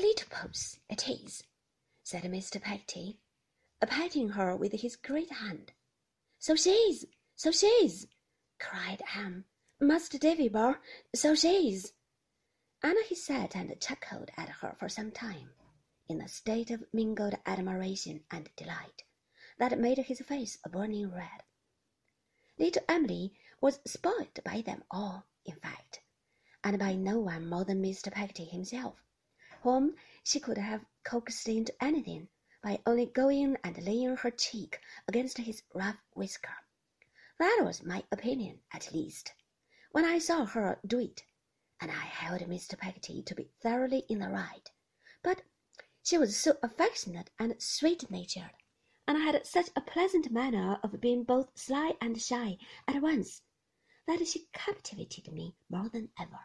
little puss it is," said Mr. Peggotty, patting her with his great hand. "So she is, so she is," cried Ham. "Master Davy-bor, so she is." And he sat and chuckled at her for some time, in a state of mingled admiration and delight that made his face a burning red. Little Emily was spoiled by them all, in fact, and by no one more than Mr. Peggotty himself, whom she could have coaxed into anything by only going and laying her cheek against his rough whisker. That was my opinion, at least, when I saw her do it, and I held Mr. Peggotty to be thoroughly in the right. But she was so affectionate and sweet-natured, and had such a pleasant manner of being both sly and shy at once, that she captivated me more than ever.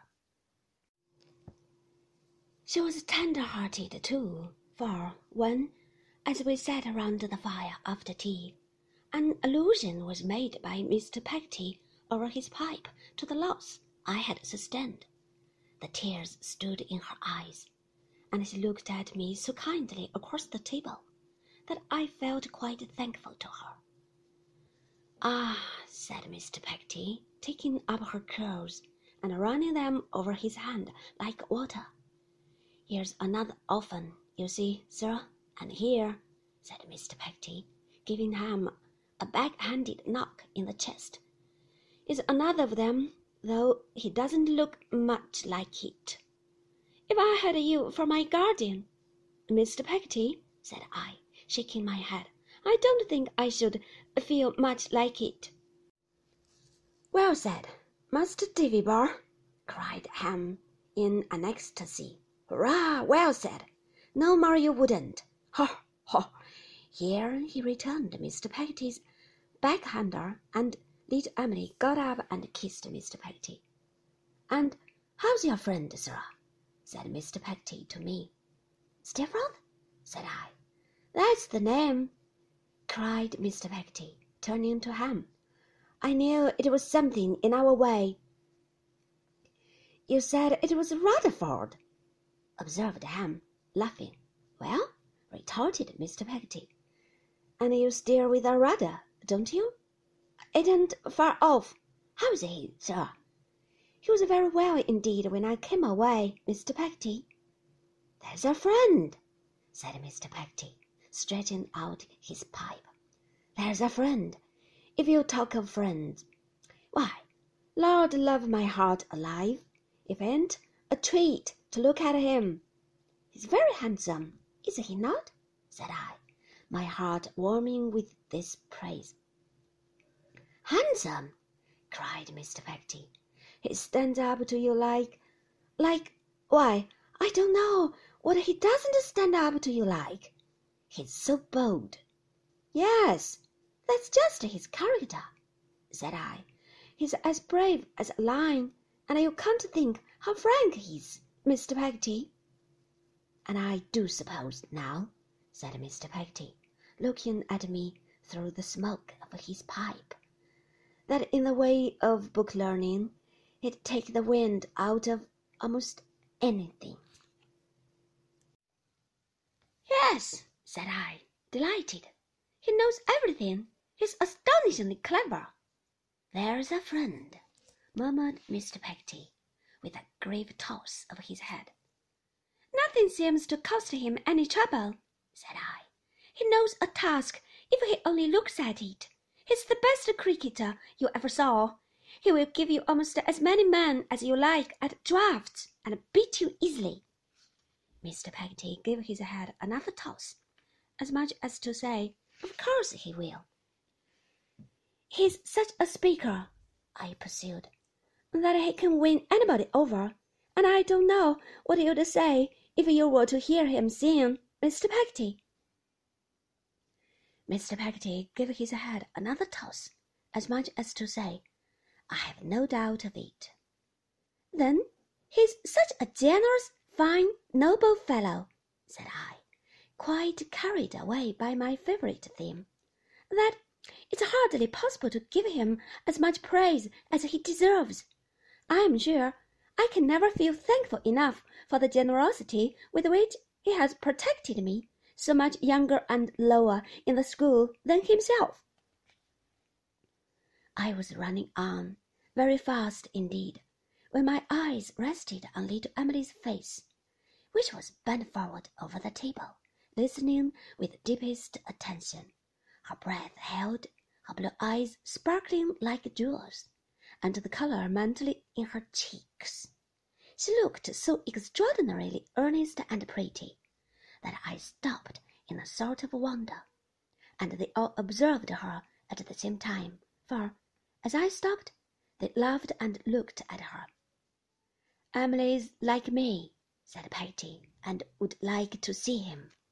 She was tender-hearted, too, for when, as we sat round the fire after tea, an allusion was made by Mr. Peggotty over his pipe to the loss I had sustained, the tears stood in her eyes, and she looked at me so kindly across the table that I felt quite thankful to her. "Ah," said Mr. Peggotty, taking up her curls and running them over his hand like water. "Here's another orphan, you see, sir, and here," said Mr. Peggotty, giving Ham a back-handed knock in the chest, "is another of them, though he doesn't look much like it." "If I had you for my guardian, Mr. Peggotty," said I, shaking my head, "I don't think I should feel much like it." "Well said, Master Davy-bor," cried Ham in an ecstasy. "Hurrah! Well said! No more you wouldn't. Ha! ha!" Here he returned Mr. Peggotty's backhander, and little Emily got up and kissed Mr. Peggotty. "And how's your friend, sir?" said Mr. Peggotty to me. "Steerforth?" said I. "That's the name," cried Mr. Peggotty, turning to Ham. "I knew it was something in our way." "You said it was Rutherford," observed Ham, laughing. "Well," retorted Mr. Peggotty, "and you steer with a rudder, don't you? It ain't far off. How's he, sir?" "He was very well indeed when I came away, Mr. Peggotty." "There's a friend," said Mr. Peggotty, stretching out his pipe. "There's a friend. If you talk of friends, why, Lord love my heart alive, if ain't a treat to look at him. He's very handsome, is he not?" said I, my heart warming with this praise. "Handsome!" cried Mr. Peggotty. "He stands up to you like, why, I don't know what he doesn't stand up to you like. He's so bold." "Yes, that's just his character," said I. "He's as brave as a lion, and you can't think how frank he is, Mr. Peggotty." "And I do suppose now," said Mr. Peggotty, looking at me through the smoke of his pipe, "that in the way of book learning he'd take the wind out of almost anything." "Yes," said I, delighted. "He knows everything. He's astonishingly clever." "There's a friend," murmured Mr. Peggotty, with a grave toss of his head. "Nothing seems to cost him any trouble," said I. "He knows a task if he only looks at it. He's the best cricketer you ever saw. He will give you almost as many men as you like at draughts, and beat you easily." Mr. Peggotty gave his head another toss, as much as to say, "Of course he will." "He's such a speaker," I pursued, "that he can win anybody over, and I don't know what you'd say if you were to hear him sing, Mr. Peggotty." Mr. Peggotty gave his head another toss, as much as to say, "I have no doubt of it." "Then he's such a generous, fine, noble fellow," said I, quite carried away by my favourite theme, "that it's hardly possible to give him as much praise as he deserves. I'm sure I can never feel thankful enough for the generosity with which He has protected me, so much younger and lower in the school than himself. I was running on, very fast indeed, when my eyes rested on little Emily's face, which was bent forward over the table, listening with deepest attention, her breath held, her blue eyes sparkling like jewels, and the color mantling in her cheeks. She looked so extraordinarily earnest and pretty that I stopped in a sort of wonder, and they all observed her at the same time, for, as I stopped, they laughed and looked at her. "Emily's like me," said Peggy, "and would like to see him."